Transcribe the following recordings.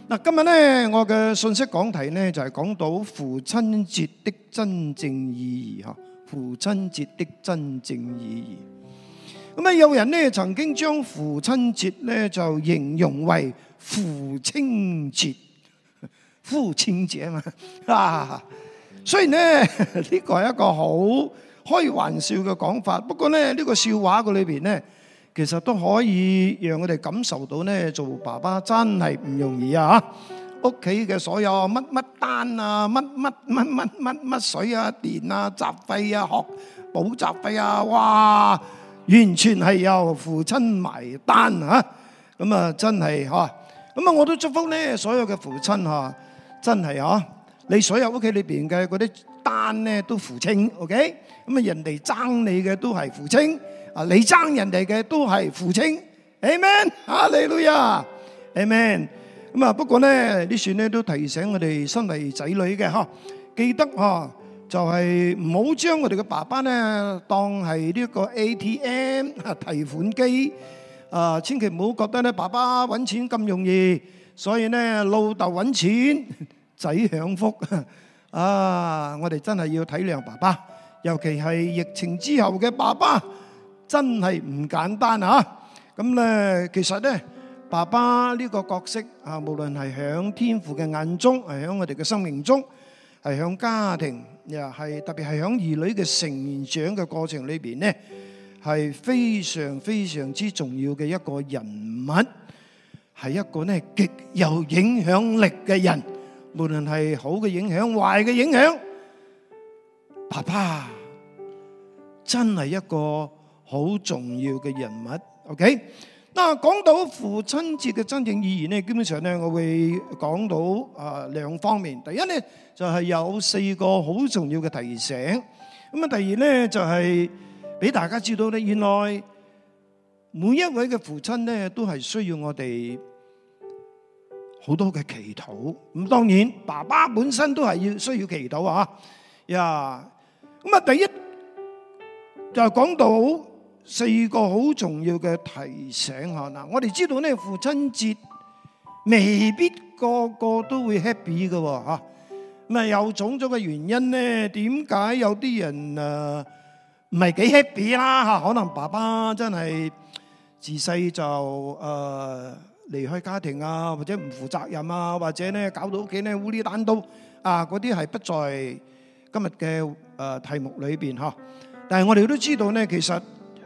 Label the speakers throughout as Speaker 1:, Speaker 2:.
Speaker 1: 嗱，今日咧我嘅信息講題咧就係講到父親節的真正意義嚇，父親節的真正意義。咁啊，有人咧曾經將父親節咧就形容為父親節，父親節啊嘛啊！雖然咧呢個係一個好開玩笑嘅講法，不過咧呢個笑話嘅裏邊咧，其實都可以讓我哋感受到咧，做爸爸真係唔容易啊！屋企嘅所有乜乜單啊、乜水啊、電啊、雜費啊、學補習費啊，哇，完全係由父親埋單啊！咁啊，真係嚇，咁啊，我都祝福咧所有嘅父親嚇，真係嚇，你所有屋企裏邊嘅嗰啲單咧都付清 ，OK？ 咁啊，人哋爭你嘅都係付清。啊！你爭人哋嘅都係父親 ，Amen， 哈利路亞 ，Amen。咁啊，不過咧，呢算咧都提醒我哋身為仔女嘅嚇，記得嚇就係唔好將我哋嘅爸爸咧當係呢個 ATM 提款機，千祈唔好覺得咧爸爸揾錢咁容易，所以咧老豆揾錢，仔享福啊！我哋真係要體諒爸爸，尤其係疫情之後嘅爸爸。真係唔簡單啊！咁咧，其實咧，爸爸呢個角色啊，無論係響天父嘅眼中，係響我哋嘅生命中，係響家庭，又係特別係響兒女嘅成長嘅過程裏邊咧，係非常非常之重要嘅一個人物，係一個咧極有影響力嘅人，無論係好嘅影響、壞嘅影響，爸爸真係一個好重要嘅人物 ，OK？ 嗱，講到父親節嘅真正意義咧，基本上咧，我會講到兩方面。第一咧就係有4個好重要嘅提醒。咁啊，第二咧就係俾大家知道咧，原來每一位嘅父親咧都係需要我哋好多嘅祈禱。咁當然，爸爸本身都係需要祈禱啊！呀，咁啊，第一就係講到4個好重要嘅提醒嚇嗱，我哋知道咧父親節未必個個都會 happy 嘅嚇，咁啊有種種嘅原因咧，點解有啲人唔係幾 happy 啦嚇？可能爸爸真係自細就離開家庭啊，或者唔負責任啊，或者咧搞到屋企咧烏哩單刀啊，嗰啲係不在今日嘅題目裏邊嚇。但係我哋都知道咧，其實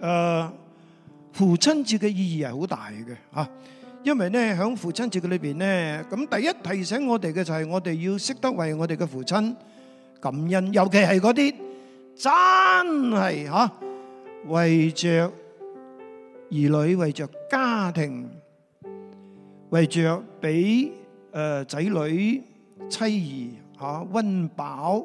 Speaker 1: 父親節嘅意義係好大嘅嚇，因為咧喺父親節嘅裏邊咧，咁第一提醒我哋嘅就係我哋要識得為我哋嘅父親感恩，尤其係嗰啲真係嚇為着兒女、為着家庭、為着俾仔女妻兒嚇溫飽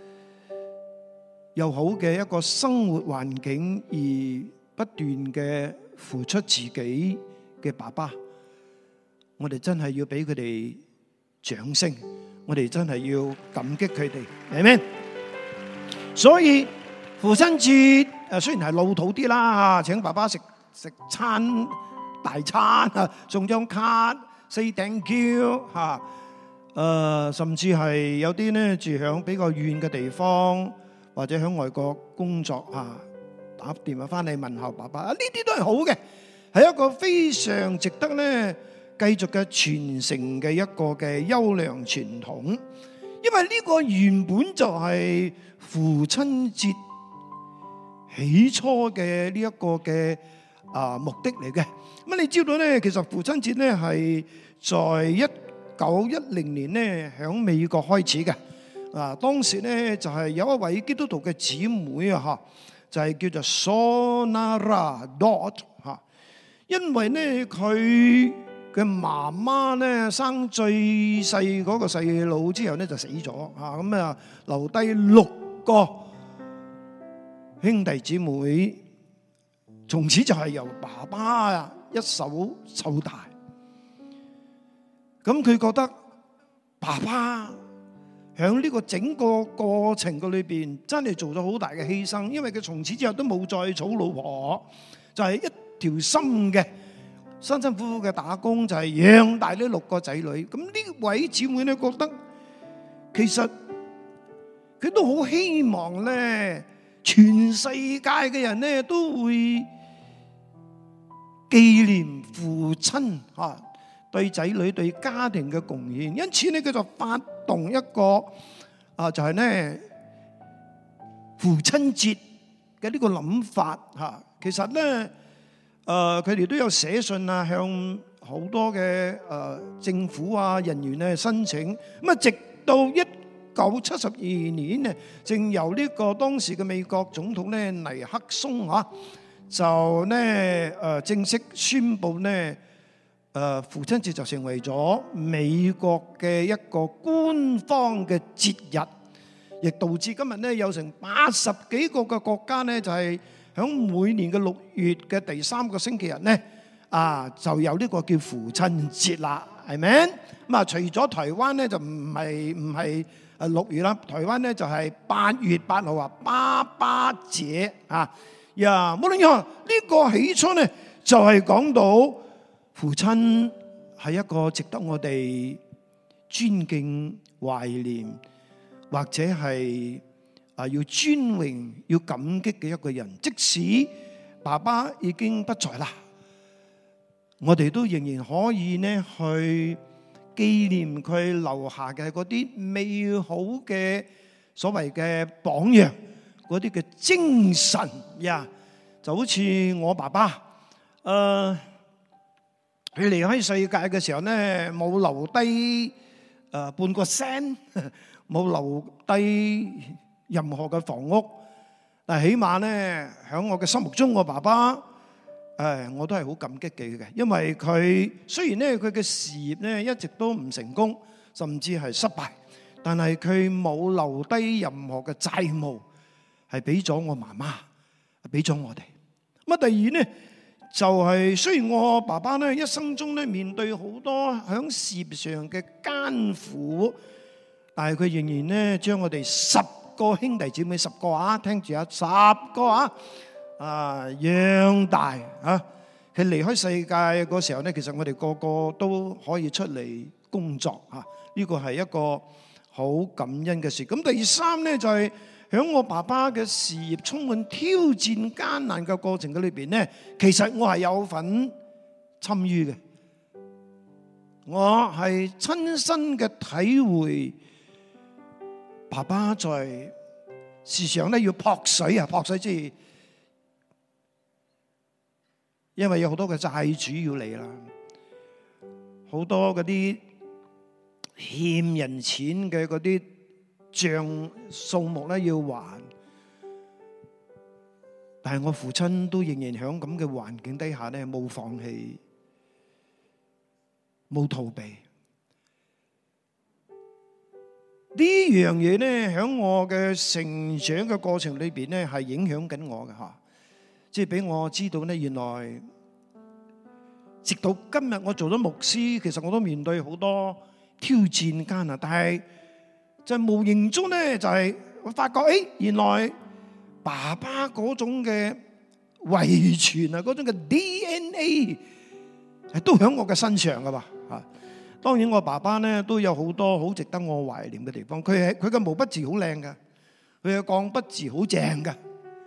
Speaker 1: 又好嘅一個生活環境而不斷嘅付出自己嘅爸爸，我哋真係要俾佢哋掌聲，我哋真係要感激佢哋，係咪？所以父親節雖然係老土啲啦，請爸爸食餐大餐啊，送張卡 say thank you 嚇，甚至係有啲咧住響比較遠嘅地方。或者喺外國工作啊，打電話翻嚟問候爸爸啊，呢啲都係好嘅，係一個非常值得咧繼續嘅傳承嘅一個嘅優良傳統。因為呢個原本就係父親節起初嘅呢一個嘅目的嚟嘅。咁你知道咧，其實父親節咧係在1910年咧喺美國開始嘅。當時咧就係有一位基督徒嘅姊妹啊嚇，就係叫做 Sonara Dot 嚇，因為咧佢嘅媽媽咧生最細嗰個細佬之後咧就死咗嚇，咁啊留低6個兄弟姊妹，從此就係由爸爸一手湊大。咁佢覺得爸爸喺呢個整個過程嘅裏邊，真係做咗好大嘅犧牲，因為佢從此之後都冇再娶老婆，就係一條心嘅辛辛苦苦嘅打工就係養大呢6個仔女。咁呢位姊妹咧覺得，其實佢都好希望咧，全世界嘅人咧都會紀念父親對仔女對家庭嘅貢獻，因此咧佢就發動一個就係咧父親節嘅呢個諗法嚇。其實咧佢哋都有寫信啊，向好多嘅政府人員咧申請。咁啊，直到1972年咧，正由呢個當時嘅美國總統咧尼克松就咧正式宣布咧父親節就成為咗美國嘅一個官方嘅節日，亦導致今日咧有成80幾個嘅國家咧就係響每年嘅6月嘅第3個星期日咧就有呢個叫父親節啦，係咪？咁啊，除咗台灣咧就唔係6月啦，台灣咧就係8月8號爸爸節無論如何，呢個起初咧就係講到父親係一個值得我哋尊敬、懷念，或者係要尊榮、要感激嘅一個人。即使爸爸已經不在啦，我哋都仍然可以呢去紀念佢留下嘅嗰啲美好嘅所謂嘅榜樣，嗰啲嘅精神就好似我爸爸，佢離開世界嘅時候呢，冇留低半個 cent， 冇留低任何嘅房屋，但係起碼呢，喺我嘅心目中，我爸爸我都係好感激佢嘅，因為佢雖然呢佢嘅事業呢一直都唔成功，甚至係失敗，但係佢冇留低任何嘅債務，係俾咗我媽媽，俾咗我哋。咁第二呢，就係雖然我爸爸呢一生中呢面對好多喺事業上嘅艱苦，但係佢仍然呢將我哋10個兄弟姊妹，10個聽住10個養大佢離開世界嗰時候呢，其實我哋個個都可以出嚟工作呢個係一個好感恩嘅事。咁第三呢，就係喺我爸爸嘅事業充滿挑戰艱難嘅過程嘅裏邊呢，其實我係有份參與嘅，我係親身嘅體會爸爸在時常咧要撲水即係因為有好多嘅債主要嚟啦，好多嗰啲欠人錢嘅嗰啲賬數目咧要還，但係我父親都仍然喺咁嘅環境底下咧冇放棄，冇逃避。呢樣嘢咧喺我嘅成長嘅過程裏邊咧係影響緊我嘅即係俾我知道咧，原來直到今日我做咗牧師，其實我都面對好多挑戰艱難，但係就無形中咧就係我發覺，原來爸爸嗰種嘅遺傳嗰種嘅 DNA 係都喺我嘅身上噶嘛當然我爸爸咧都有好多好值得我懷念嘅地方，佢嘅毛筆字好靚噶，佢嘅鋼筆字好正噶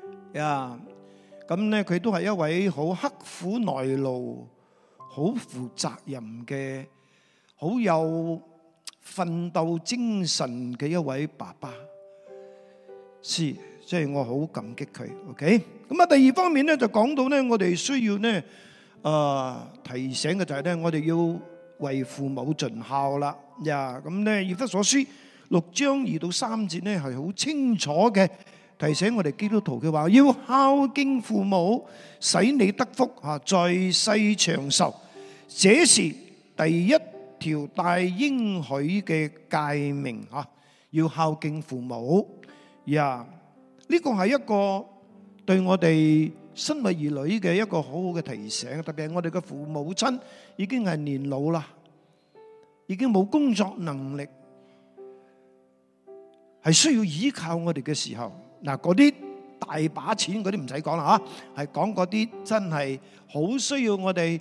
Speaker 1: 咁咧佢都係一位好刻苦耐勞、好負責任嘅、好有奮鬥精神嘅一位爸爸，即係我好感激佢。OK， 咁第二方面咧就講到咧，我哋需要咧提醒嘅就係咧，我哋要為父母盡孝啦。咁咧以弗所書6章2到3節咧係好清楚嘅提醒我哋基督徒嘅話，要孝敬父母，使你得福在世長壽，這是第一條大應許嘅誡命要孝敬父母。呢個係一個對我哋身為兒女嘅一個好好嘅提醒，特別係我哋嘅父母親已經係年老啦，已經冇工作能力，係需要依靠我哋嘅時候，嗰啲大把錢嗰啲唔使講啦係講嗰啲真係好需要我哋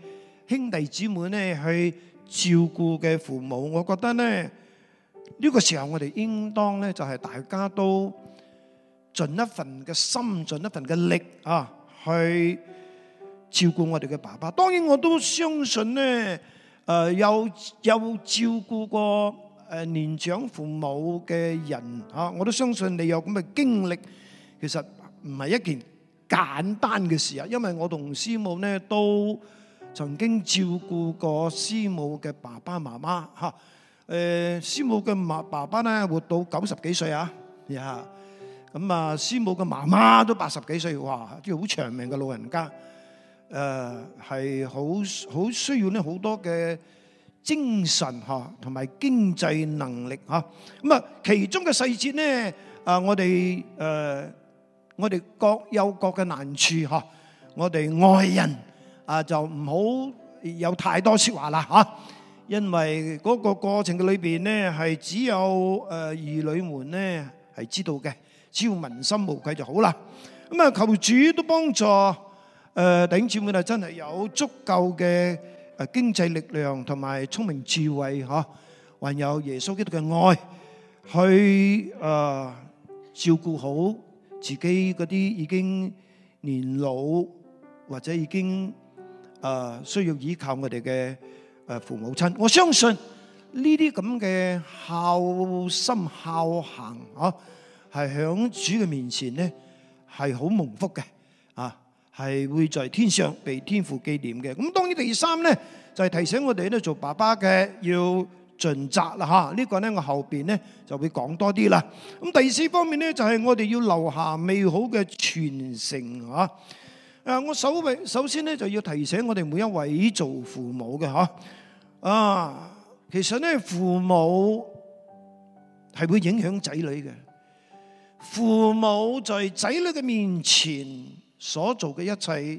Speaker 1: 兄弟姊妹咧去照顧嘅父母，我覺得咧呢個時候我哋應當咧就係大家都盡一份嘅心，盡一份嘅力啊，去照顧我哋嘅爸爸。當然我都相信咧，有照顧過年長父母嘅人啊，我都相信你有咁嘅經歷，其實唔係一件簡單嘅事啊。因為我同師母咧都曾經照顧過師母嘅爸爸媽媽嚇。師母嘅爸爸咧活到90幾歲啊，呀咁啊，師母嘅媽媽都80幾歲，哇，即係好長命嘅老人家。係好需要咧好多嘅精神嚇，同埋經濟能力嚇。咁啊，其中嘅細節咧，我哋各有各嘅難處嚇。我哋外人就唔好有太多説話啦嚇，因為嗰個過程嘅裏邊咧係只有兒女們咧係知道嘅，只要問心無愧就好啦。咁啊，求主都幫助弟兄姊妹啊，真係有足夠嘅經濟力量同埋聰明智慧嚇，還有耶穌基督嘅愛，去照顧好自己嗰啲已經年老或者已經需要依靠我哋嘅父母親。我相信呢啲咁嘅孝心孝行嚇，係響主嘅面前咧係好蒙福嘅啊！係會在天上被天父紀念嘅。咁當然第三咧就係提醒我哋咧做爸爸嘅要盡責啦嚇。呢個咧我後邊咧就會講多啲啦。咁第四方面咧就係我哋要留下美好嘅傳承嚇。我首先咧就要提醒我哋每一位做父母嘅嚇。其實咧父母係會影響仔女嘅。父母在仔女嘅面前所做嘅一切，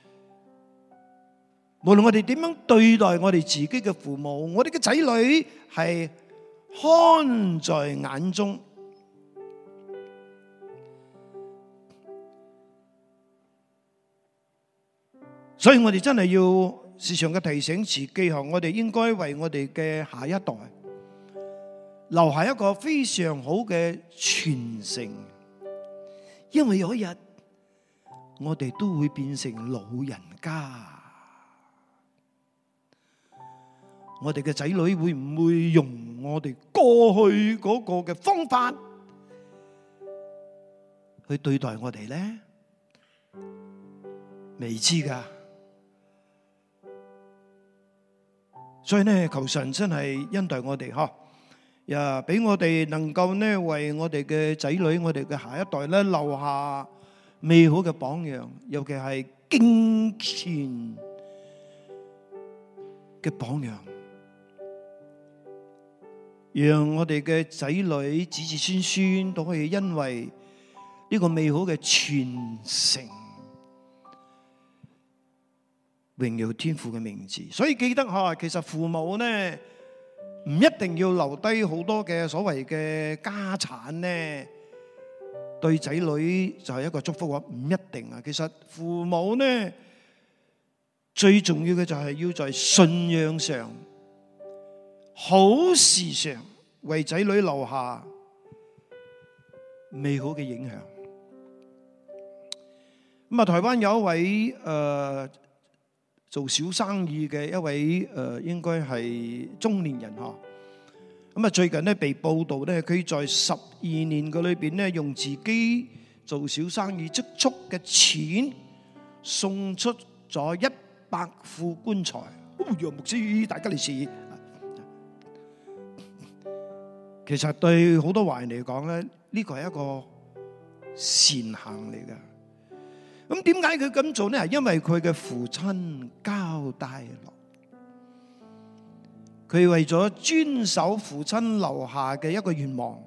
Speaker 1: 無論我哋點樣對待我哋自己嘅父母，我哋嘅仔女係看在眼中。所以我哋真係要時常嘅提醒自己，我哋應該為我哋嘅下一代留下一個非常好嘅傳承，因為有一日我哋都會變成老人家，我哋嘅仔女會唔會用我哋過去嗰個嘅方法去對待我哋呢？未知㗎。所以呢，求神真係恩待我哋嗬，俾我哋能夠呢為我哋嘅仔女、我哋嘅下一代咧留下美好嘅榜樣，尤其係敬虔嘅榜樣，讓我哋嘅仔女子子孫孫都可以因為呢個美好嘅傳承，榮耀天父嘅名字。所以記得其實父母呢唔一定要留低好多嘅所謂嘅家產呢，對仔女就係一個祝福啊，唔一定啊。其實父母呢最重要嘅就係要在信仰上、好事上為仔女留下美好嘅影響。咁啊，台灣有一位做小生意嘅一位應該係中年人嗬，咁啊最近咧被報道咧，佢在12年嘅裏邊咧，用自己做小生意積蓄嘅錢，送出咗100副棺材。楊牧師，大吉利是。其實對好多華人嚟講咧，呢個係一個善行嚟嘅。咁點解佢咁做呢？係因為佢嘅父親交代落，佢為咗遵守父親留下嘅一個願望。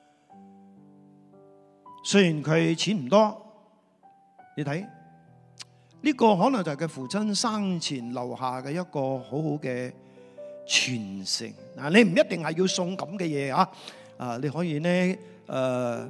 Speaker 1: 雖然佢錢唔多，你睇呢個可能就係佢父親生前留下嘅一個好好嘅傳承。嗱，你唔一定係要送咁嘅嘢啊，你可以呢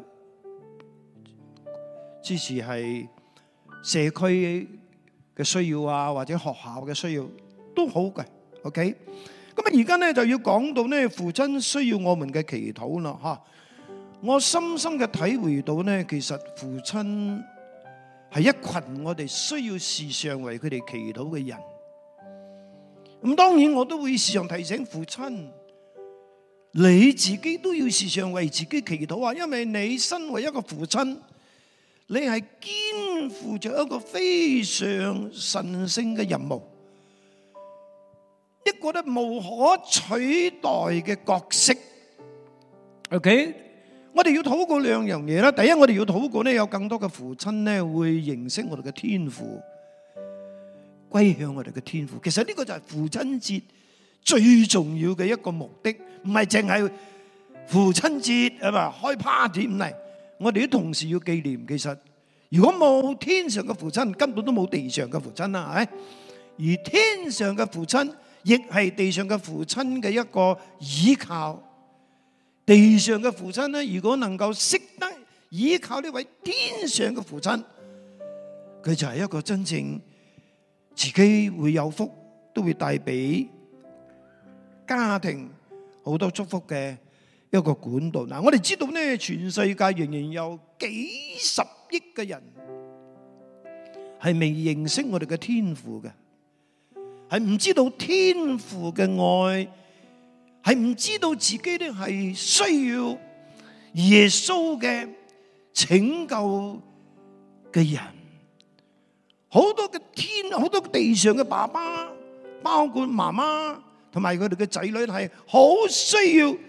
Speaker 1: 支持係社區嘅需要啊，或者學校嘅需要都好嘅。OK， 咁啊而家咧就要講到咧父親需要我們嘅祈禱啦嚇。我深深嘅體會到咧，其實父親係一群我哋需要時常為佢哋祈禱嘅人。咁當然我都會時常提醒父親，你自己都要時常為自己祈禱啊，因為你身為一個父親，你係肩負着一個非常神聖嘅任務，一個咧無可取代嘅角色。OK， 我哋要禱告兩樣嘢啦。第一，我哋要禱告咧，有更多嘅父親咧會認識我哋嘅天父，歸向我哋嘅天父。其實呢個就係父親節最重要嘅一個目的，唔係淨係父親節係嘛開 party 唔係。我哋都同時要紀念，其實如果冇天上嘅父親，根本都冇地上嘅父親啦，係咪？而天上嘅父親亦係地上嘅父親嘅一個依靠。地上嘅父親咧，如果能夠識得依靠呢位天上嘅父親，佢就係一個真正自己會有福，都會帶俾家庭好多祝福嘅一個管道。嗱，我哋知道咧，全世界仍然有幾十億嘅人係未認識我哋嘅天父嘅，係唔知道天父嘅愛，係唔知道自己咧係需要耶穌嘅拯救嘅人。好多嘅好多地上嘅爸爸，包括媽媽同埋佢哋嘅仔女，係好需要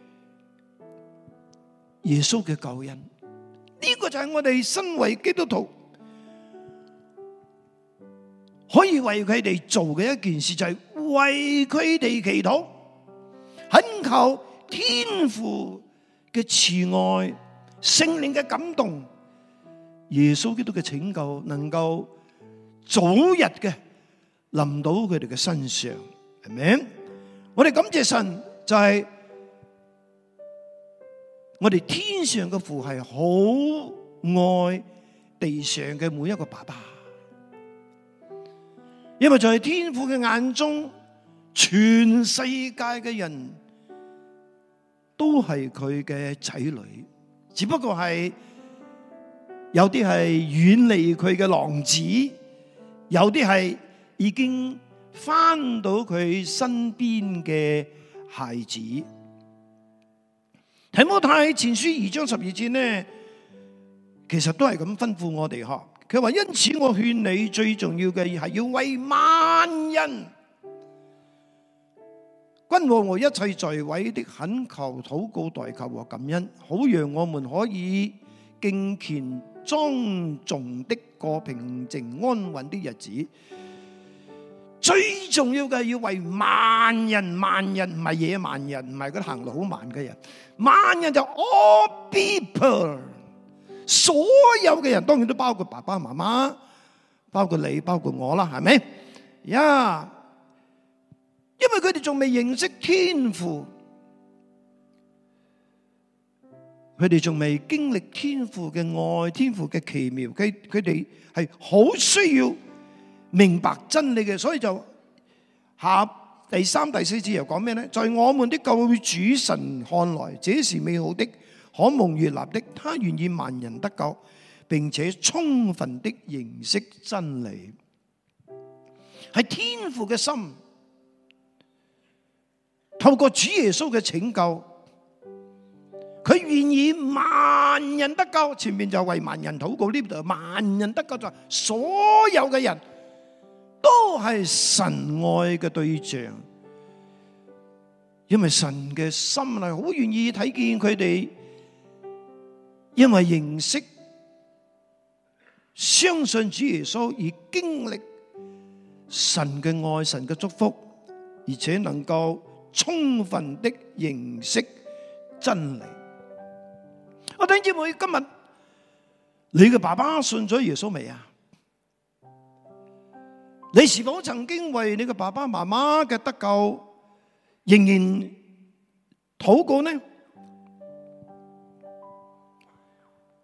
Speaker 1: 耶穌嘅救恩。呢個就係我哋身為基督徒可以為佢哋做嘅一件事，就係為佢哋祈禱，懇求天父嘅慈愛、聖靈嘅感動、耶穌基督嘅拯救，能夠早日嘅臨到佢哋嘅身上，係咪？我哋感謝神，就係我哋天上嘅父係好愛地上嘅每一個爸爸，因為在天父嘅眼中，全世界嘅人都係佢嘅仔女，只不過係有啲係遠離佢嘅浪子，有啲係已經翻到佢身邊嘅孩子。提摩太前書2章12節呢，其實都係咁吩咐我哋嗬。佢話：因此我勸你，最重要嘅係要為萬人，君王和一切在位的懇求、禱告、代求和感恩，好讓我們可以敬虔莊重的過平靜安穩的日子。最重要嘅係要為萬人，萬人唔係野蠻人，唔係嗰啲行路好慢嘅人，萬人就 all people， 所有嘅人，當然都包括爸爸媽媽，包括你，包括我啦，係咪？呀，因為佢哋仲未認識天父，佢哋仲未經歷天父嘅愛，天父嘅奇妙，佢哋係好需要明白真理嘅，所以就下第3、第4節又講咩呢？在我們的救主神看來，這是美好的，可蒙悅納的。他願意萬人得救，並且充分的認識真理。係天父嘅心，透過主耶穌嘅拯救，佢願意萬人得救。前面就為萬人禱告，呢度萬人得救就係所有嘅人都係神愛嘅對象，因為神嘅心係好願意睇見佢哋，因為認識、相信主耶穌而經歷神嘅愛、神嘅祝福，而且能夠充分的認識真理。我弟兄姊妹，今日你嘅爸爸信咗耶穌未啊？你是否曾經為你嘅爸爸媽媽嘅得救仍然禱告呢？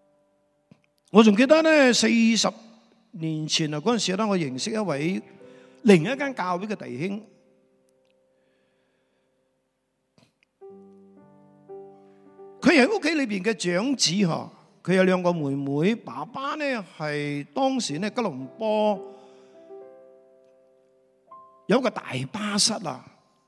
Speaker 1: 我仲記得呢，40年前啊，嗰陣時咧，我認識一位另一間教會嘅弟兄，佢係屋企裏邊嘅長子嗬，佢有兩個妹妹，爸爸呢係當時呢吉隆坡有個大巴剎啊，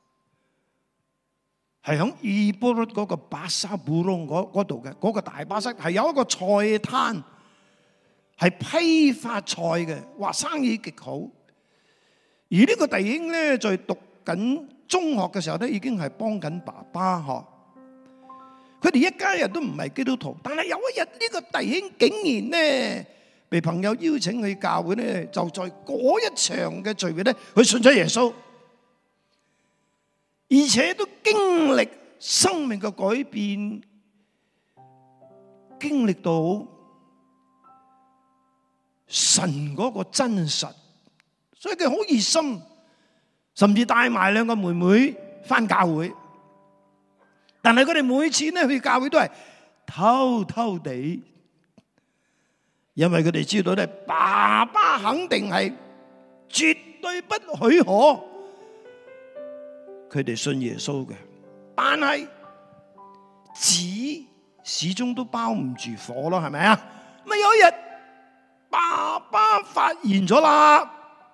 Speaker 1: 係響伊波律嗰個巴沙布隆嗰度嘅嗰個大巴剎，係有一個菜攤，係批發菜嘅，話生意極好。而呢個弟兄咧，在讀緊中學嘅時候咧，已經係幫緊爸爸嗬。佢哋一家人都唔係基督徒，但係有一日呢個弟兄竟然咧被朋友邀請去教會咧，就在嗰一場嘅聚會咧，佢信咗耶穌，而且都經歷生命嘅改變，經歷到神嗰個真實，所以佢好熱心，甚至帶埋兩個妹妹返教會。但係佢哋每次咧去教會都係偷偷地，因為佢哋知道咧，爸爸肯定係絕對不許可佢哋信耶穌嘅。但係紙始終都包唔住火咯，係咪啊？咁有一日，爸爸發現咗啦，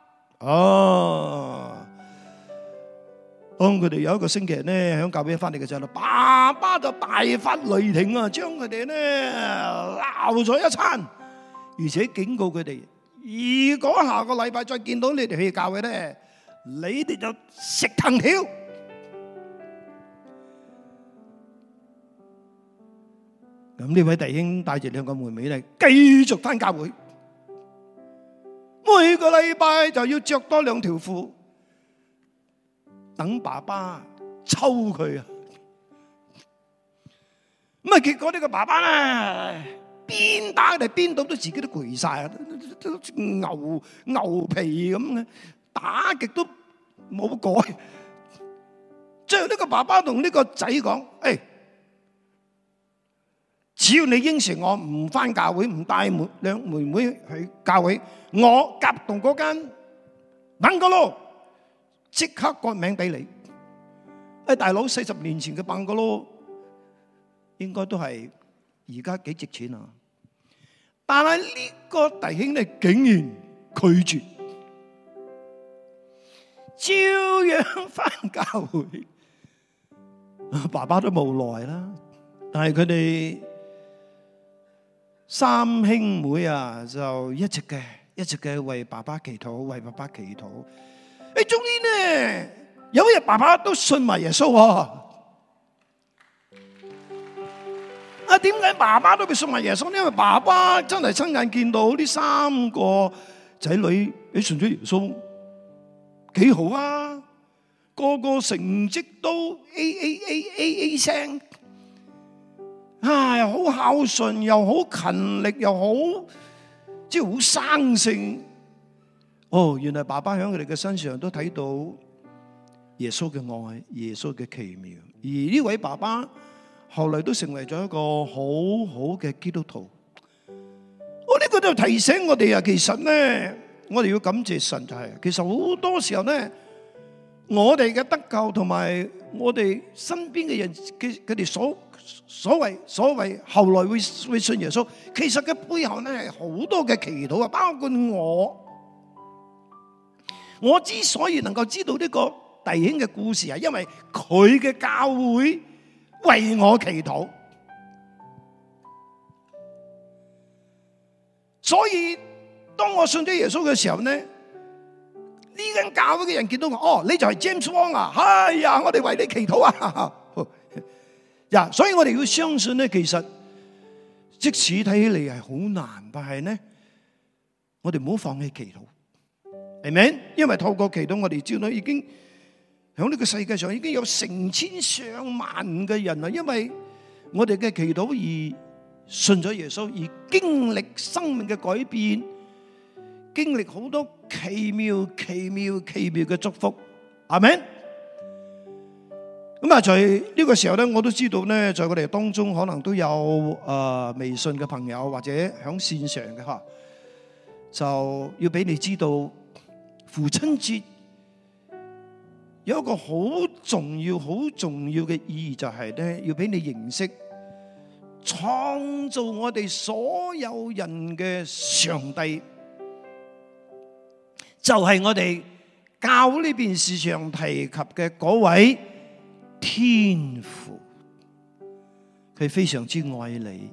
Speaker 1: 當佢哋有一個星期日咧，喺教會翻嚟嘅時候，爸爸就大發雷霆啊，將佢哋咧鬧咗一餐，而且警告佢哋：如果下個禮拜再見到你哋去教會咧，你哋就食藤條。咁呢位弟兄帶住兩個妹妹咧，繼續翻教會，每個禮拜就要着多兩條褲。等爸爸抽佢啊！咁啊，結果呢個爸爸咧，邊打佢哋邊到都自己都攰晒，都牛皮咁嘅，打極都冇改。最後呢個爸爸同呢個仔講：誒，只要你應承我唔返教會，唔帶兩妹妹去教會，我夾同嗰間等個咯。即刻改名俾你！誒，大佬，40年前嘅辦個咯，應該都係而家幾值錢啊！但係呢個弟兄咧，竟然拒絕，照樣返教會。爸爸都無奈啦，但係佢哋三兄妹啊，就一直嘅為爸爸祈禱，為爸爸祈禱。誒，終於呢，有一日爸爸都信埋耶穌啊！點解爸爸都會信埋耶穌？因為爸爸真係親眼見到呢三個仔女你信咗耶穌，幾好啊！個個成績都 A 聲，又好孝順，又好勤力，又好即係好生性。原來爸爸喺佢哋嘅身上都睇到耶穌嘅愛，耶穌嘅奇妙。而呢位爸爸後來都成為咗一個好好嘅基督徒。呢個就提醒我哋啊，其實呢，我哋要感謝神，就係其實好多時候呢，我哋嘅得救同埋我哋身邊嘅人，佢哋所謂後來會信耶穌，其實嘅背後呢係好多嘅祈禱啊，包括我之所以能夠知道呢個弟兄嘅故事，係因為佢嘅教會為我祈禱，所以當我信咗耶穌嘅時候呢，呢間教會嘅人見到我，你就係 James Wong 啊，哎呀，我哋為你祈禱啊，所以我哋要相信呢，其實即使睇起嚟係好難，但係呢，我哋唔好放棄祈禱。係咪？因為透過祈禱，我哋知道已經喺呢個世界上已經有成千上萬嘅人啦。因為我哋嘅祈禱而信咗耶穌，而經歷生命嘅改變，經歷好多奇妙嘅祝福。係咪？咁啊，在呢個時候咧，我都知道咧，在我哋當中可能都有微信嘅朋友或者喺線上嘅就要俾你知道。 父親節有一個好重要嘅意義，就係咧要俾你認識創造我哋所有人嘅上帝，就係我哋教呢邊時常提及嘅嗰位天父。佢非常之愛你，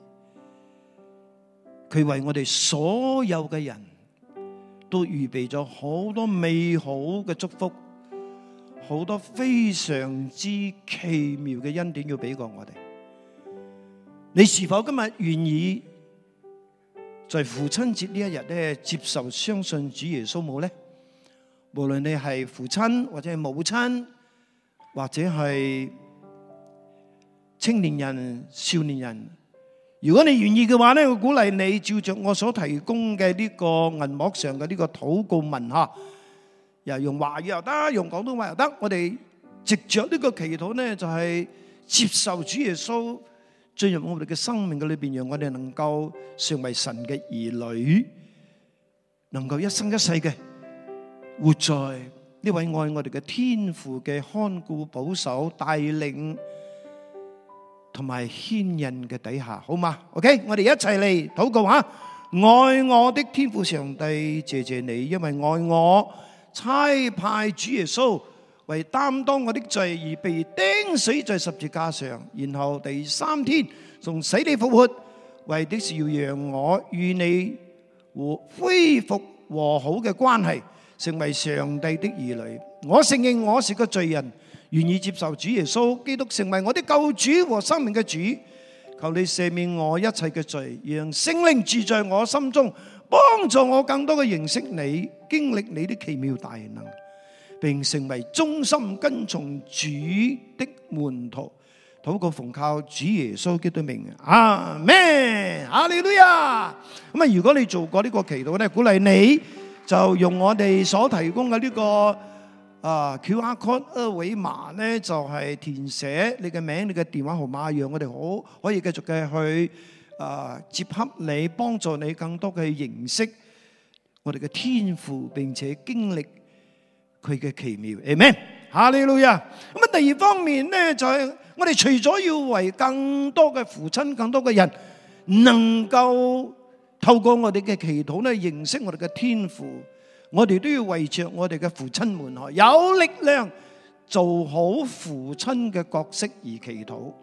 Speaker 1: 佢為我哋所有嘅人都預備咗好多美好嘅祝福，好多非常之奇妙嘅恩典要俾過我哋。你是否今日願意在父親節呢一日咧接受相信主耶穌冇呢？無論你係父親或者係母親，或者係青年人、少年人，如果你願意嘅話咧，我鼓勵你照着我所提供嘅呢個銀幕上嘅呢個禱告文吓，又用華語又得，用廣東話又得。我哋藉着呢個祈禱咧，就係接受主耶穌進入我哋嘅生命嘅裏邊，讓我哋能夠成為神嘅兒女，能夠一生一世嘅活在呢位愛我哋嘅天父嘅看顧、保守、帶領同埋牽引嘅底下，好嗎 ？OK， 我哋一齊嚟禱告吓。愛我的天父上帝，謝謝你，因為愛我，差派主耶穌為擔當我的罪而被釘死在十字架上，然後第三天從死裏復活，為的是要讓我與你恢復和好嘅關係，成為上帝的兒女。我承認我是個罪人，願意接受主耶穌基督成為我的救主和生命嘅主。求你赦免我一切嘅罪，讓聖靈住在我心中，幫助我更多嘅認識你，經歷你的奇妙大能，並成為忠心跟從主的門徒。禱告奉靠主耶穌基督的名，阿們，哈利路亞。咁啊，如果你做過呢個祈禱咧，鼓勵你就用我哋所提供嘅呢個QR code 二維碼咧，就係填寫你嘅名、你嘅電話號碼，讓我哋可以繼續嘅去接洽你，幫助你更多嘅認識我哋嘅天父，並且經歷佢嘅奇妙。阿們，哈利路亞。咁啊，第二方面咧，就係我哋除咗要為更多嘅父親、更多嘅人能夠透過我哋嘅祈禱咧認識我哋嘅天父，我哋都要為着我哋嘅父親們有力量做好父親嘅角色而祈禱。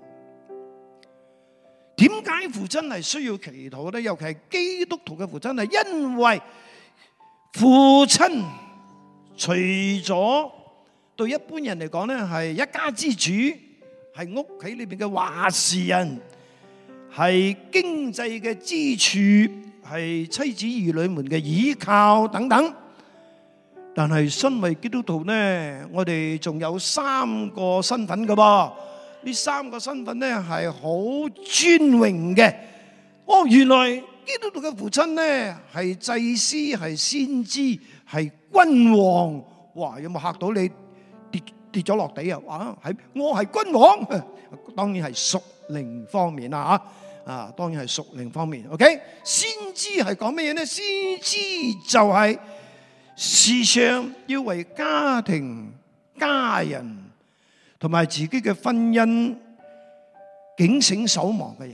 Speaker 1: 點解父親係需要祈禱呢？尤其係基督徒嘅父親，係因為父親除咗對一般人嚟講咧係一家之主，係屋企裏邊嘅話事人，係經濟嘅支柱，係妻子兒女們嘅依靠等等。但係身為基督徒呢，我哋仲有三個身份㗎噃。呢三個身份呢係好尊榮嘅。原來基督徒嘅父親呢係祭司、係先知、係君王。哇！有冇嚇到你跌咗落地啊？我係君王，當然係屬靈方面啦嚇。當然係屬靈方面。OK， 先知係講乜嘢呢？先知就係時常要為家庭、家人同埋自己嘅婚姻警醒守望嘅人。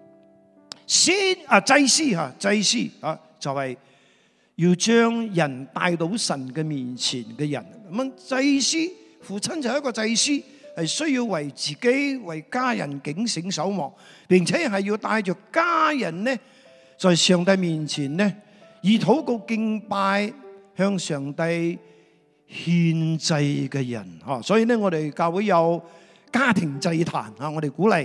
Speaker 1: 祭司就係要將人帶到神嘅面前嘅人。咁祭司，父親就係一個祭司，係需要為自己、為家人警醒守望，並且係要帶着家人呢，在上帝面前呢，以禱告敬拜向上帝獻祭嘅人。所以呢，我哋教會有家庭祭壇，我哋鼓勵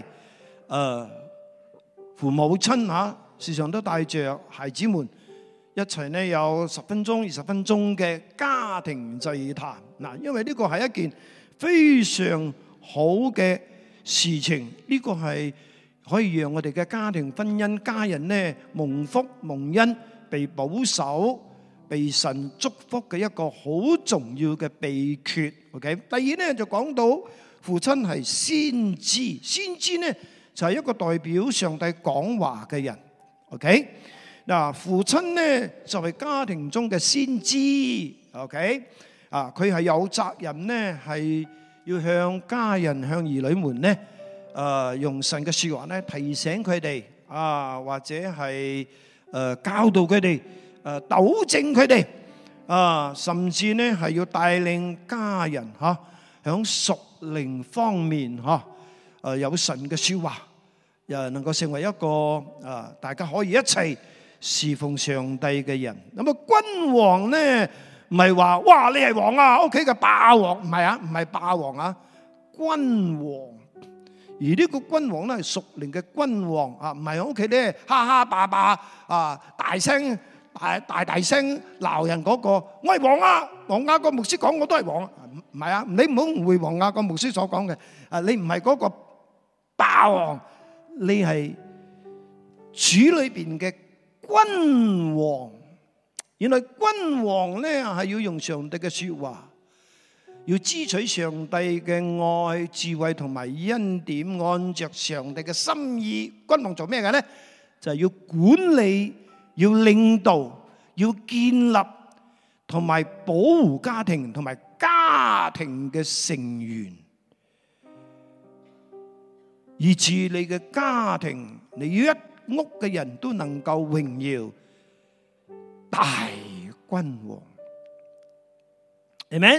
Speaker 1: 父母親時常都帶着孩子們一齊呢，有10分鐘、20分鐘嘅家庭祭壇。因為呢個係一件非常好嘅事情，呢個係可以讓我哋嘅家庭、婚姻、家人呢蒙福蒙恩，被保守、被神祝福嘅一個好重要嘅秘訣。OK， 第二呢就講到父親係先知，先知呢就係一個代表上帝講話嘅人。OK， 父親呢就係家庭中嘅先知。 OK 啊，佢係有責任咧，係要向家人、向兒女們咧，用神嘅說話咧提醒佢哋啊，或者係教導佢哋，糾正佢哋啊，甚至咧係要帶領家人吓，響屬靈方面吓，有神嘅說話，又能夠成為一個大家可以一齊侍奉上帝嘅人。咁啊，君王咧唔係話哇你係王啊，屋企嘅霸王，唔係啊，唔係霸王啊，君王。而呢個君王咧係屬靈嘅君王啊，唔係喺屋企咧哈哈霸霸啊，大聲大聲鬧人嗰個，我係王啊！黃亞國牧師講我都係王，唔係啊，你唔好誤會黃亞國牧師所講嘅，你唔係嗰個霸王，你係主裏邊嘅君王。原來君王咧係要用上帝嘅說話，要支取上帝嘅愛、智慧同埋恩典，按着上帝嘅心意。君王做咩嘅咧？就係要管理、要領導、要建立同埋保護家庭同埋家庭嘅成員，以致你嘅家庭，你一屋嘅人都能夠榮耀大君王。Amen。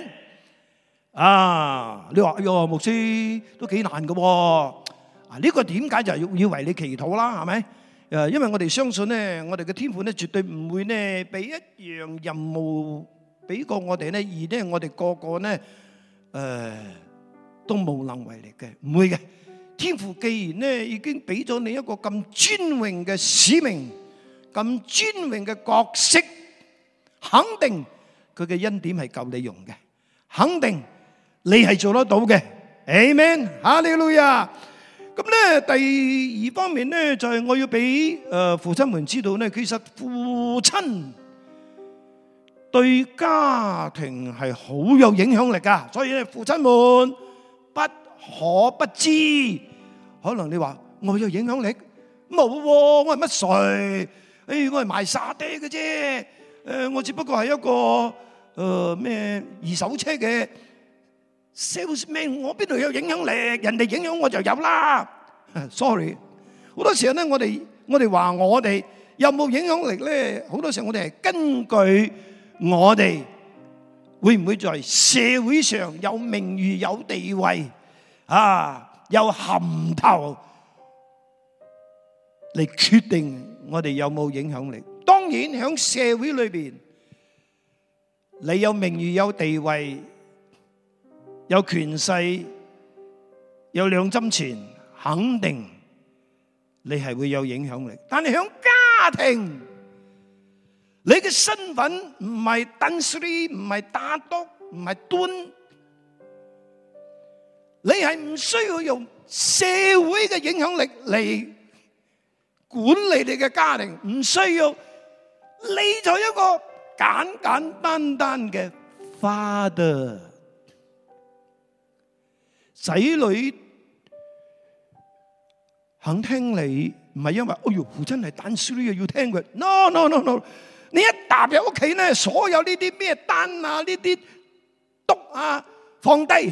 Speaker 1: 你話牧師都幾難㗎喎，呢個點解就要為你祈禱啦，係咪？因為我哋相信咧，我哋嘅天父咧絕對唔會咧俾一樣任務俾過我哋咧，而咧我哋個個咧都無能為力嘅，唔會嘅。天父既然咧已經俾咗你一個咁尊榮嘅使命，咁尊榮嘅角色，肯定佢嘅恩典係夠你用嘅，肯定你係做得到嘅。Amen， 哈利路亞。咁咧，第二方面咧，就係我要俾父親們知道咧，其實父親對家庭係好有影響力噶，所以咧，父親們不可不知。可能你話我有影響力，冇，我係乜誰？我係賣沙爹嘅啫，我只不過係一個咩二手車嘅salesman， 我邊度有影響力？人哋影響我就有啦。Sorry， 好多時候咧，我哋話我哋有冇影響力咧？好多時候我哋係根據我哋會唔會在社會上有名譽、有地位有銜頭嚟決定我哋有冇影響力。當然喺社會裏邊，你有名譽、有地位、有權勢、有兩針錢，肯定你係會有影響力。但係喺家庭，你嘅身份唔係鄧斯里，唔係打督，唔係端，你係唔需要用社會嘅影響力嚟管理你嘅家庭，唔需要。你就一個簡簡單單嘅 father， 仔女肯聽你，唔係因為父親係單書呢，要聽佢。No， 你一踏入屋企咧，所有呢啲咩單啊，呢啲督啊，放低，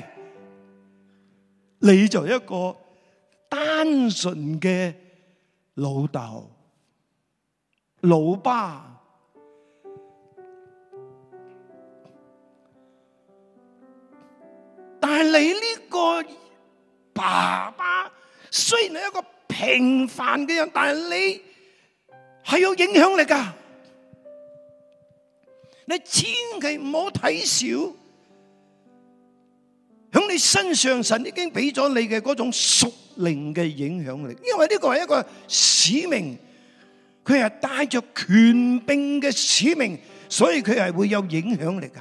Speaker 1: 你就一個單純嘅老豆、老爸。但係你呢個爸爸雖然係一個平凡嘅人，但係你係有影響力噶。你千祈唔好睇小響你身上神已經俾咗你嘅嗰種屬靈嘅影響力，因為呢個係一個使命，佢係帶着權柄嘅使命，所以佢係會有影響力噶。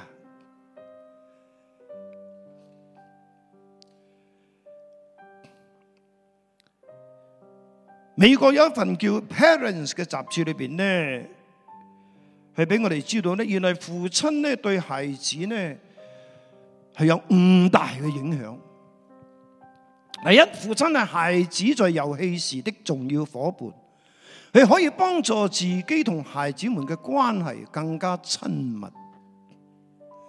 Speaker 1: 美國有一份叫 Parents 嘅雜誌裏邊咧，係俾我哋知道咧，原來父親咧對孩子咧係有5大嘅影響。第一，父親係孩子在遊戲時的重要夥伴，佢可以幫助自己同孩子們嘅關係更加親密。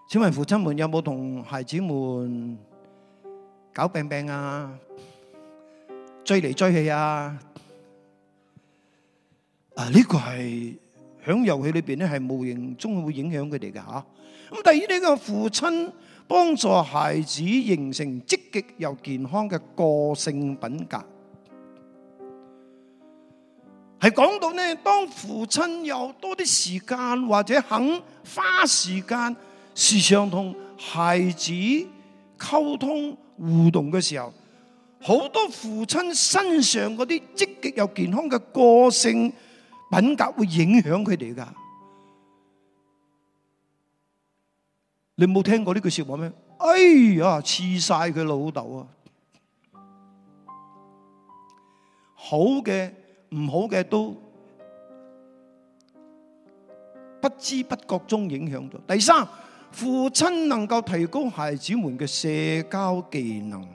Speaker 1: 請問父親們有冇同孩子們搞病病啊？追嚟追去啊？呢個係響遊戲裏邊咧，係無形中會影響佢哋嘅吓。咁第二，呢個父親幫助孩子形成積極又健康嘅個性品格，係講到呢，當父親有多啲時間或者肯花時間，時常同孩子溝通互動嘅時候，好多父親身上嗰啲積極又健康嘅個性品格會影響佢哋噶。你冇聽過呢句說話咩？哎呀，黐晒佢老豆啊！好嘅、唔好嘅都不知不覺中影響咗。第三，父親能夠提高孩子們嘅社交技能。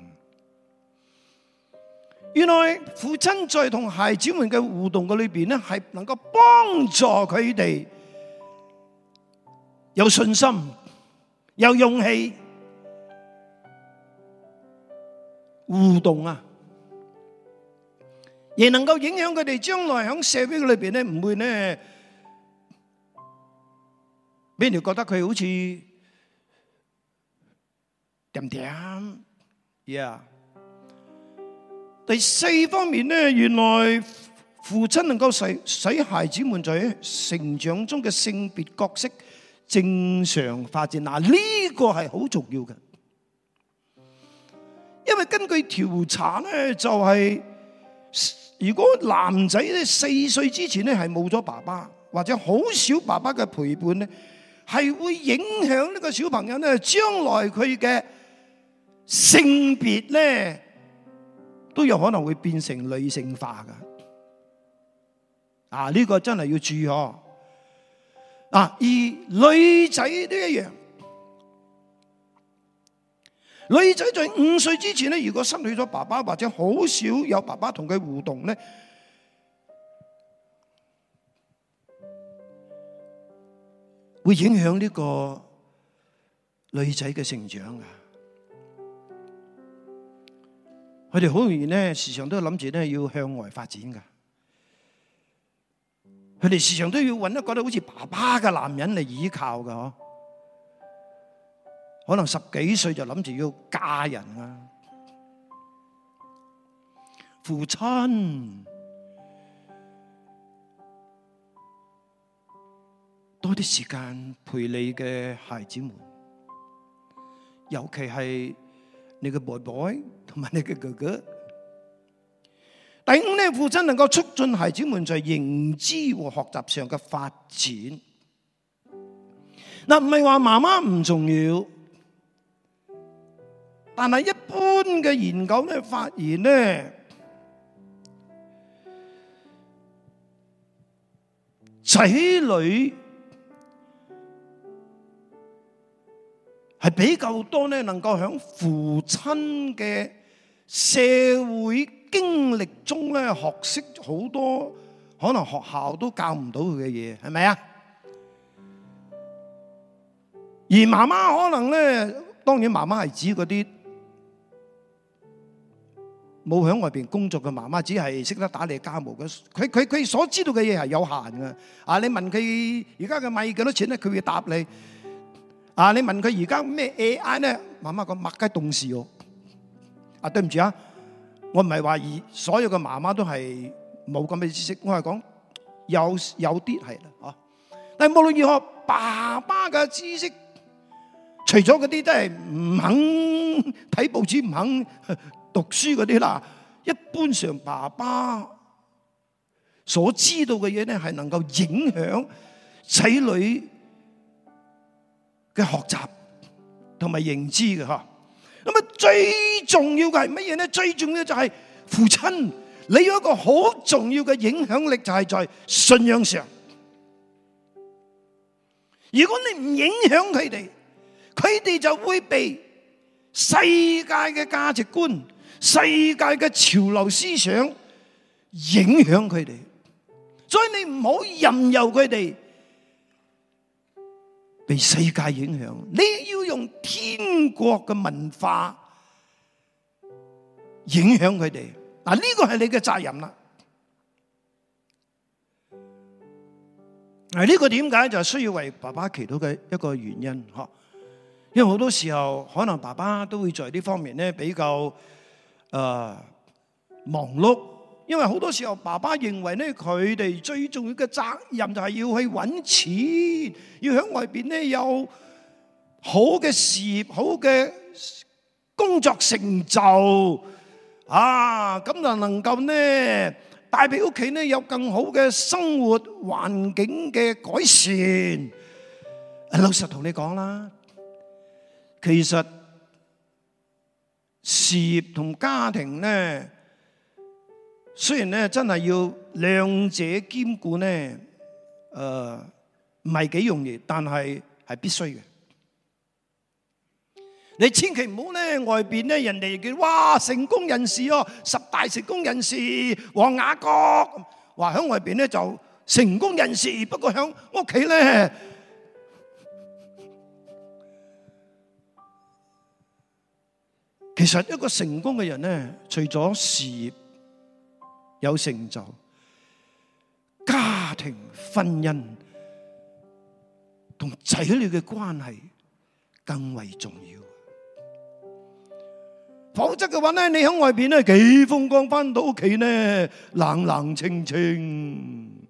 Speaker 1: 原來父親在同孩子們嘅互動嘅裏邊咧，係能夠幫助佢哋有信心、有勇氣互動啊，亦能夠影響佢哋將來喺社會裏邊咧，唔會咧俾人覺得佢好似點點呀。第四方面咧，原來父親能夠使孩子們在成長中嘅性別角色正常發展。嗱，呢個係好重要嘅，因為根據調查咧，就係如果男仔咧4歲之前咧係冇咗爸爸，或者好少爸爸嘅陪伴咧，係會影響呢個小朋友咧將來佢嘅性別咧都有可能會變成女性化噶。呢個真係要注意哦。而女仔都一樣，女仔在5歲之前咧，如果失去咗爸爸或者好少有爸爸同佢互動咧，會影響呢個女仔嘅成長啊！佢哋好容易咧，時常都諗住咧要向外發展噶。佢哋時常都要揾一個好似爸爸嘅男人嚟依靠噶，嗬。可能10幾歲就諗住要嫁人啊。父親多啲時間陪你嘅孩子們，尤其係你嘅 boy 同埋你嘅哥哥。第五呢，父親能夠促進孩子們在認知和學習上嘅發展。嗱，唔係話媽媽唔重要，但係一般嘅研究咧發現咧，仔女係比較多咧，能夠喺父親嘅社會經歷中咧，學識好多可能學校都教唔到佢嘅嘢，係咪啊？而媽媽可能咧，當然媽媽係指嗰啲冇喺外邊工作嘅媽媽，只係識得打理家務嘅。佢所知道嘅嘢係有限嘅。你問佢而家嘅米幾多錢咧，佢會答你。你問佢而家咩 AI 咧，媽媽講麥雞凍事喎。對唔住啊！我唔係話所有嘅媽媽都係冇咁嘅知識，我係講有啲係啦，但係無論如何，爸爸嘅知識，除咗嗰啲真係唔肯睇報紙、唔肯讀書嗰啲啦，一般上爸爸所知道嘅嘢咧，係能夠影響仔女嘅學習同埋認知嘅嚇。咁啊，最重要嘅係乜嘢咧？最重要就係父親，你有一個好重要嘅影響力，就係在信仰上。如果你唔影響佢哋，佢哋就會被世界嘅價值觀、世界嘅潮流思想影響佢哋。所以你唔好任由佢哋被世界影響，你要用天國嘅文化影響佢哋。嗱，呢個係你嘅責任啦。呢個點解就需要為爸爸祈禱嘅一個原因，嗬？因為好多時候可能爸爸都會在呢方面咧比較忙碌，因為好多時候爸爸認為咧佢哋最重要嘅責任就係要去揾錢，要喺外邊咧有好嘅事業、好嘅工作成就咁就能夠咧帶俾屋企咧有更好嘅生活環境嘅改善。老實同你講啦，其實事業同家庭咧，雖然咧真係要兩者兼顧咧，唔係幾容易，但係必須嘅。你千祈唔好咧，外邊咧人哋叫哇成功人士哦，10大成功人士，黃雅各，話喺外邊咧就成功人士，不過喺屋企咧，其實一個成功嘅人咧，除咗事業有成就，家庭、婚姻同仔女嘅關係更為重要。否則嘅話咧，你喺外邊咧幾風光，翻到屋企咧冷冷清清、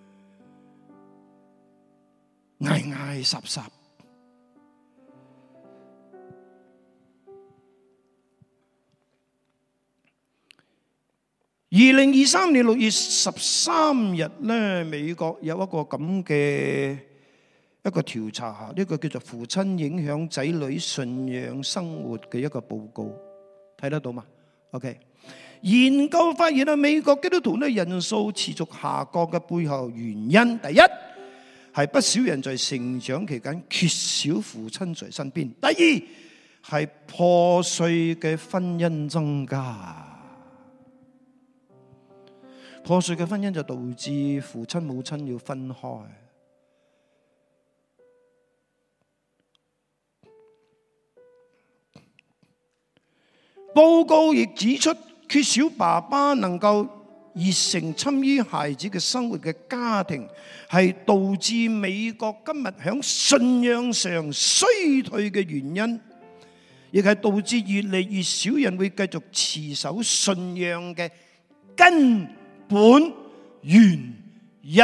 Speaker 1: 挨挨霎霎。2023年6月13日咧，美國有一個咁嘅一個調查，呢個叫做父親影響仔女信仰生活嘅一個報告。睇得到嘛 ？OK， 研究發現美國基督徒咧人數持續下降嘅背後原因，第一係不少人在成長期間缺少父親在身邊；第二係破碎嘅婚姻增加，破碎嘅婚姻就導致父親母親要分開。報告亦指出，缺少爸爸能夠熱誠參與孩子嘅生活嘅家庭，係導致美國今日喺信仰上衰退嘅原因，亦係導致越嚟越少人會繼續持守信仰嘅根本原因。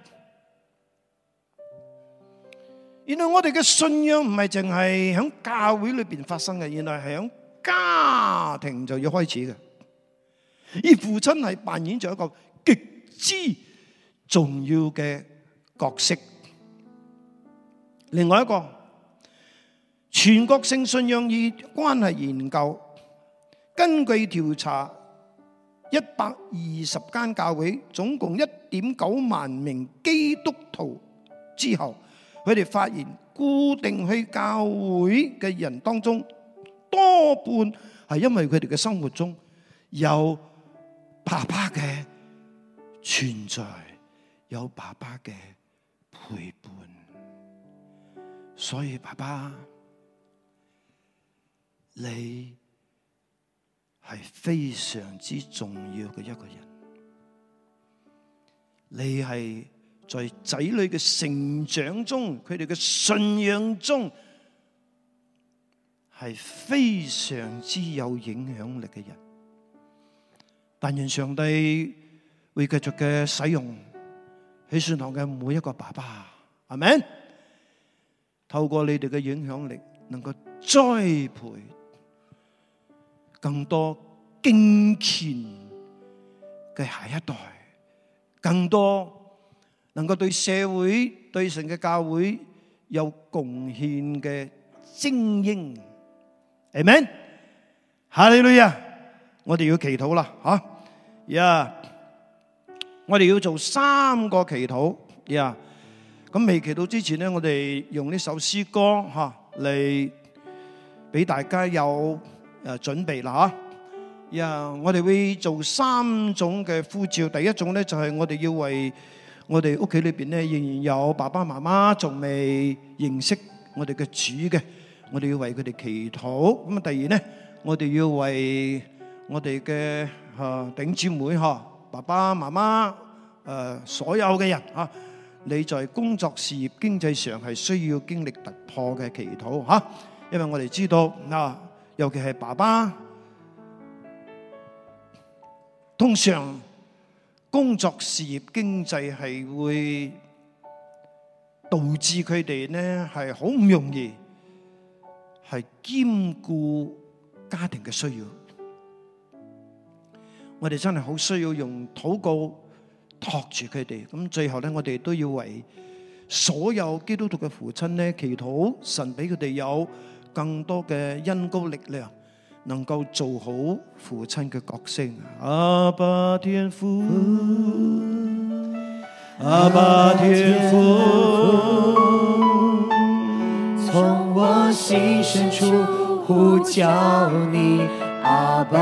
Speaker 1: 原來我哋嘅信仰唔係淨係喺教會裏邊發生嘅，原來係喺家庭就要開始嘅，而父親係扮演咗一個極之重要嘅角色。另外一個全國性信仰與關係研究，根據調查120間教會，總共1.9萬名基督徒之後，佢哋發現固定去教會嘅人當中，多半係因為佢哋嘅生活中有爸爸嘅存在，有爸爸嘅陪伴，所以爸爸，你係非常之重要嘅一個人，你係在仔女嘅成長中，佢哋嘅信仰中，係非常之有影響力嘅人。但願上帝會繼續嘅使用喜信堂嘅每一個爸爸，係咪？透過你哋嘅影響力，能夠栽培更多敬虔嘅下一代，更多能夠對社會、對神嘅教會有貢獻嘅精英。阿們，哈利路亞！我哋要祈禱啦，我哋要做3個祈禱，咁未祈禱之前呢，我哋用呢首詩歌嚟俾大家有準備啦，我哋會做3種嘅呼召。第一種呢，就係我哋要為我哋屋企裏邊咧仍然有爸爸媽媽仲未認識我哋嘅主嘅，我哋要為佢哋祈禱。咁啊，第二咧，我哋要為我哋嘅弟兄姊妹爸爸媽媽所有嘅人你在工作、事業、經濟上係需要經歷突破嘅祈禱因為我哋知道尤其係爸爸，通常工作、事業、經濟係會導致佢哋呢係好唔容易係兼顧家庭嘅需要。我哋真係好需要用禱告托住佢哋。咁最後呢，我哋都要為所有基督徒嘅父親呢祈禱，神俾佢哋有更多嘅恩膏力量，能夠做好父親嘅角色。阿爸天父，阿爸天父，
Speaker 2: 從我心深處呼叫你，阿爸，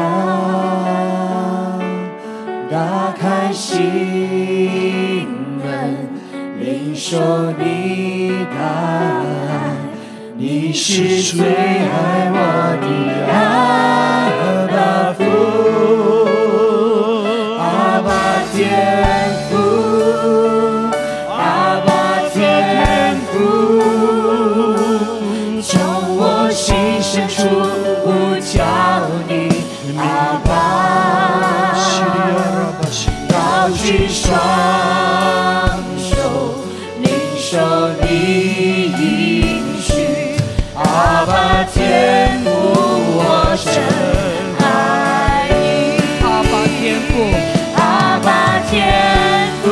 Speaker 2: 打開心門，領受你的愛，你是最愛我的阿爸父，阿爸天父，阿爸天父，從我心深處呼叫你，阿爸，高舉雙手，領受你應許，阿爸天父，我真愛你，阿爸天父，阿爸天父，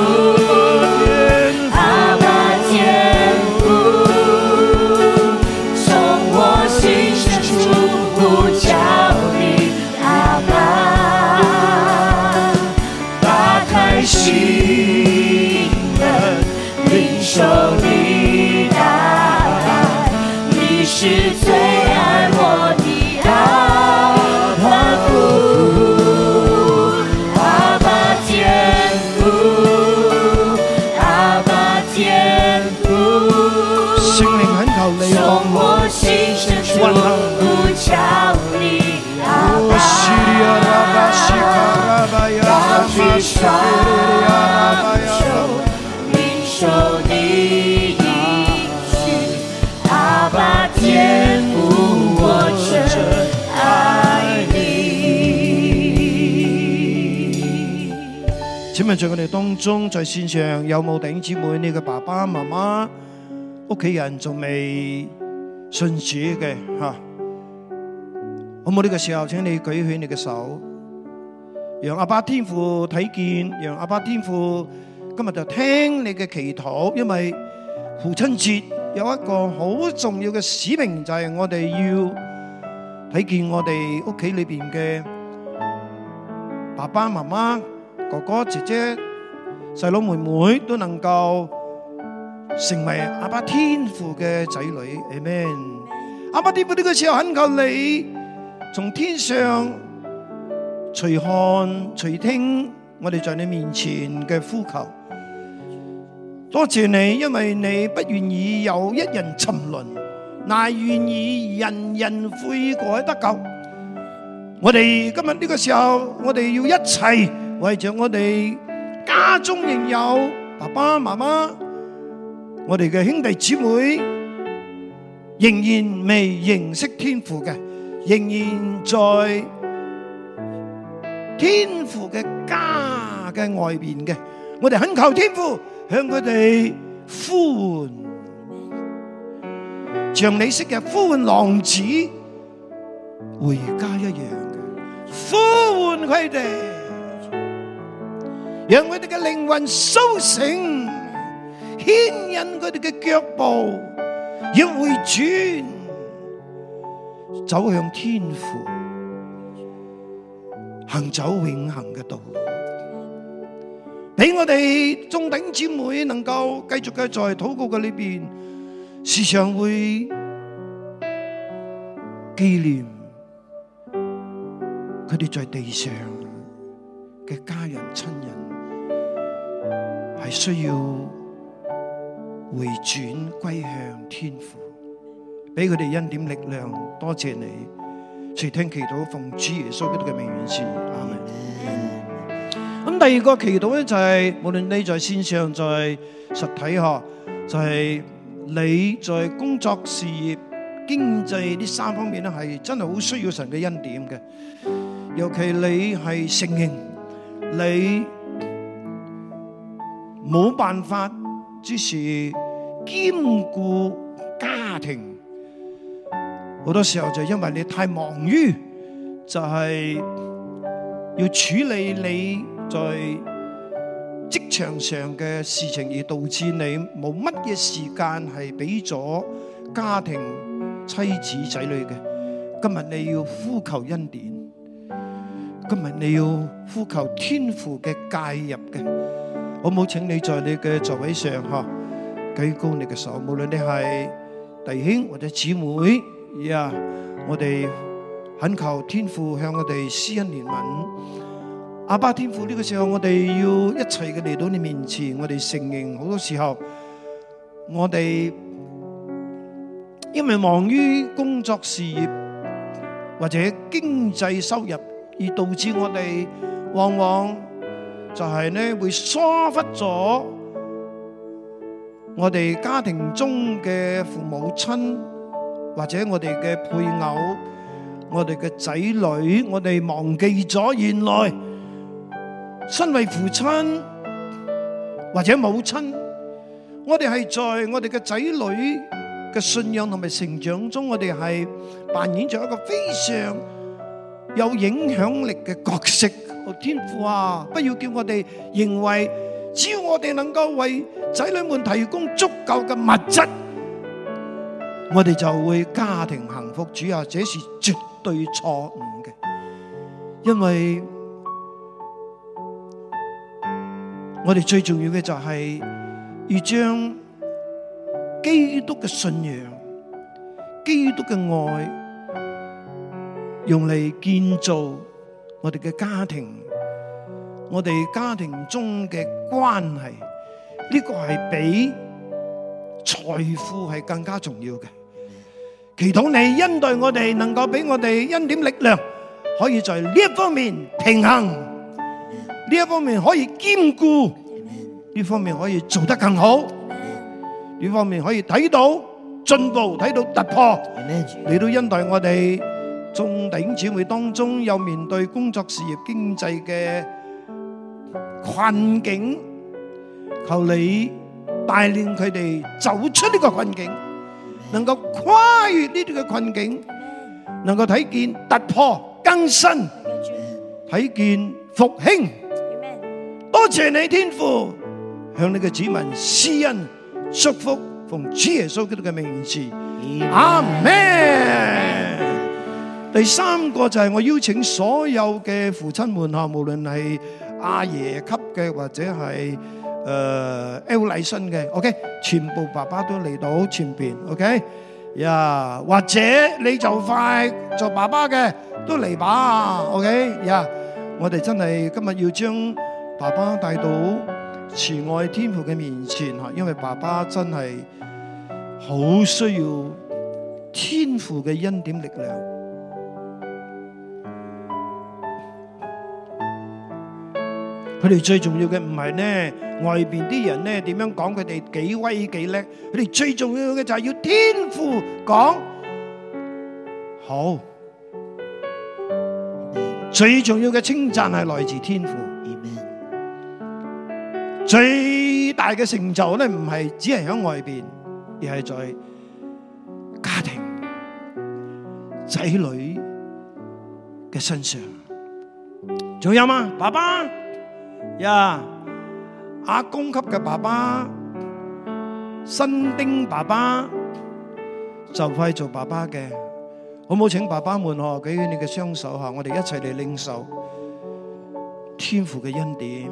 Speaker 2: 阿爸天父，從我心深處呼叫你，阿爸，打開心門，領受你的愛，你是最愛我的阿爸父，阿爸天父，阿爸天父，
Speaker 1: 聖靈懇求你
Speaker 2: 從我心深處呼叫你，阿爸，高舉雙手，領受你應許，阿爸天父，我真愛你。
Speaker 1: 請問在我哋當中，在線上有冇弟兄姊妹，你嘅爸爸媽媽、屋企人仲未信主嘅好冇？呢個時候，請你舉起你嘅手，讓阿爸天父睇見，讓阿爸天父今日就聽你嘅祈禱。因為父親節有一個好重要嘅使命，就係我哋要睇見我哋屋企裏邊嘅爸爸媽媽、哥哥姐姐、細佬妹妹都能夠成為阿爸天父嘅仔女。Amen。阿爸天父，呢個時候懇求你從天上隨看隨聽我哋在你面前嘅呼求。多謝你，因為你不願意有一人沉淪，乃願意人人悔改得救。我哋今日呢個時候，我哋要一齊為着我哋家中仍有爸爸媽媽，我哋嘅兄弟姊妹仍然未認識天父嘅，仍然在天父嘅家嘅外邊嘅，我哋懇求天父向佢哋呼喚，像你昔日呼喚浪子回家一樣嘅呼喚佢哋，讓佢哋嘅靈魂甦醒，牽引佢哋嘅腳步，要回轉，走向天父，行走永恆嘅道路，俾我哋眾弟兄姊妹能夠繼續嘅在禱告嘅裏邊，時常會紀念佢哋在地上嘅家人親人， 係需要回轉歸向天父，俾佢哋恩典力量。多謝你，垂聽祈禱，奉主耶穌基督嘅名願賜，阿門。咁第二個祈禱咧就係，無論你在線上在實體嗬，就係你在工作事業經濟呢三方面咧，係真係好需要神嘅恩典嘅。尤其你係承認你冇辦法之時兼顧家庭，好多時候就因為你太忙於就係要處理你在職場上嘅事情，而導致你冇乜嘢時間係俾咗家庭、妻子、仔女嘅。今日你要呼求恩典，今日你要呼求天父嘅介入嘅。好唔好？請你在你嘅座位上舉高你嘅手，無論你係弟兄或者姊妹，我哋懇求天父向我哋施恩憐憫。阿爸天父，呢個時候我哋要一齊嘅嚟到你面前，我哋承認好多時候我哋因為忙於工作事業或者經濟收入，而導致我哋往往就係呢會疏忽咗我哋家庭中嘅父母親，或者我哋嘅配偶、我哋嘅仔女，我哋忘記咗原來身為父親或者母親，我哋係在我哋嘅仔女嘅信仰同埋成長中，我哋係扮演咗一個非常有影響力嘅角色。天父啊，不要叫我哋認為只要我哋能夠為仔女們提供足夠嘅物質，我哋就會家庭幸福。主啊，這是絕對錯誤嘅，因為我哋最重要嘅就係要將基督嘅信仰、基督嘅愛用嚟建造我哋嘅家庭，我哋家庭中嘅關係，呢個係比財富係更加重要嘅。祈禱你恩待我哋，能夠俾我哋恩典力量，可以在呢一方面平衡，呢一方面可以兼顧，呢方面可以做得更好，呢方面可以睇到進步，睇到突破。你都恩待我哋眾弟兄姊妹當中有面對工作事業經濟嘅困境，求你帶領佢哋走出呢個困境，能夠跨越呢啲嘅困境，能夠睇見突破更新，睇見復興。多謝你天父向你嘅子民施恩祝福，奉主耶穌基督嘅名字，阿們。第三個就係我邀請所有嘅父親們嚇，無論係阿爺級嘅或者係L 禮信嘅 ，OK， 全部爸爸都嚟到前邊 ，OK， 或者你就快做爸爸嘅都嚟吧 ，OK， 我哋真係今日要將爸爸帶到慈愛天父嘅面前嚇，因為爸爸真係好需要天父嘅恩典力量。佢哋最重要嘅唔係呢外邊啲人呢點樣講佢哋幾威幾叻，佢哋最重要嘅就係要天父講好。最重要嘅稱讚係來自天父。最大嘅成就呢唔係只係喺外邊，而係在家庭仔女嘅身上。仲有嗎？爸爸阿公級嘅爸爸，新丁爸爸就快做爸爸嘅，好唔好？請爸爸們舉起你嘅雙手，我哋一齊嚟領受天父嘅恩典。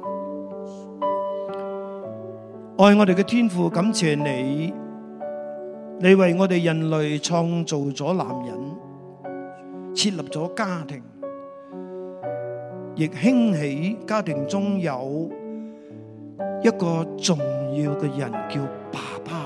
Speaker 1: 愛我哋嘅天父，感謝你，你為我哋人類創造咗男人，設立咗家庭，亦興起家庭中有一個重要嘅人叫爸爸，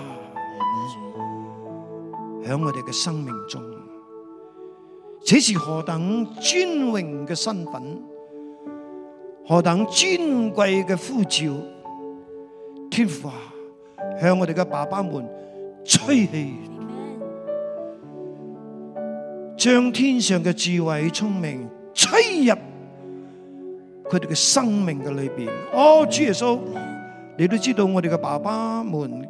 Speaker 1: 喺我哋嘅生命中，這是何等尊榮嘅身份，何等尊貴嘅呼召！天父啊，向我哋嘅爸爸們吹氣，將天上嘅智慧聰明吹入佢哋嘅生命嘅裏邊。哦，主耶穌，你都知道我哋嘅爸爸們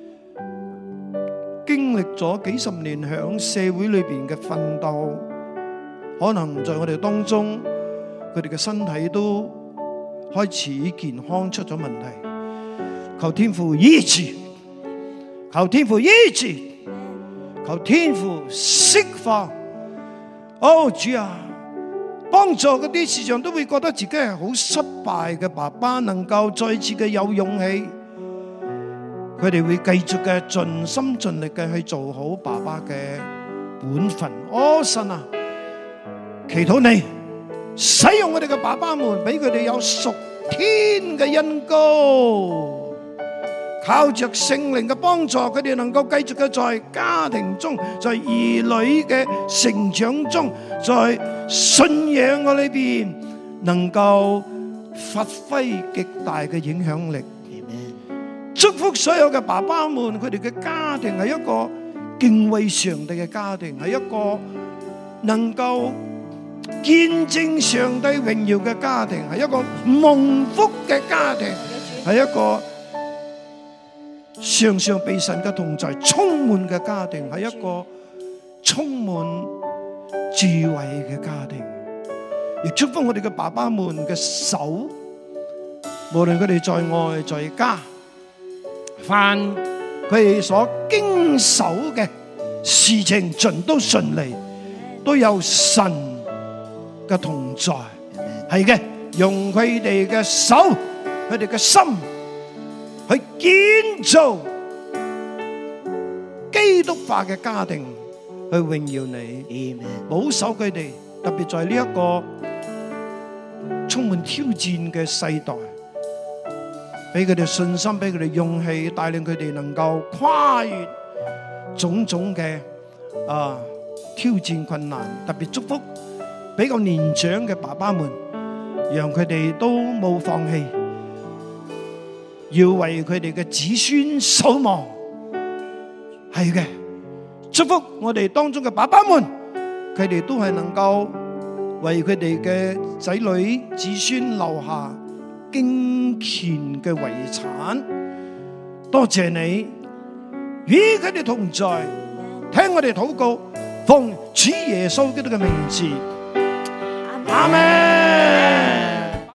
Speaker 1: 經歷咗幾十年響社會裏邊嘅奮鬥，可能在我哋當中，佢哋嘅身體都開始健康出咗問題。求天父醫治，求天父醫治，求天父釋放。哦，主啊，幫助嗰啲時常都會覺得自己係好失敗嘅爸爸，能夠再次嘅有勇氣，佢哋會繼續嘅盡心盡力嘅去做好爸爸嘅本分。哦，神啊，祈禱你使用我哋嘅爸爸們，俾佢哋有屬天嘅恩膏，靠着聖靈嘅幫助，佢哋能夠繼續嘅在家庭中，在兒女嘅成長中，在信仰嘅裏邊，能夠發揮極大嘅影響力。祝福所有嘅爸爸們，佢哋嘅家庭係一個敬畏上帝嘅家庭，係一個能夠見證上帝榮耀嘅家庭，係一個蒙福嘅家庭，係一個常常被神嘅同在充滿嘅家庭，係一個充滿智慧嘅家庭。亦祝福我哋嘅爸爸們嘅手，無論佢哋在外在家，凡佢哋所經手嘅事情盡都順利，都有神嘅同在。係嘅，用佢哋嘅手，佢哋嘅心去建造基督化嘅家庭，去榮耀你，保守佢哋，特別在呢一個充滿挑戰嘅世代，俾佢哋信心，俾佢哋勇氣，帶領佢哋能夠跨越種種嘅挑戰困難。特別祝福比較年長嘅爸爸們，讓佢哋都冇放棄，要為佢哋嘅子孫守望。係嘅，祝福我哋當中嘅爸爸們，佢哋都係能夠為佢哋嘅仔女子孫留下敬虔嘅遺產。多謝你與佢哋同在，聽我哋禱告，奉主耶穌基督嘅名字，阿們。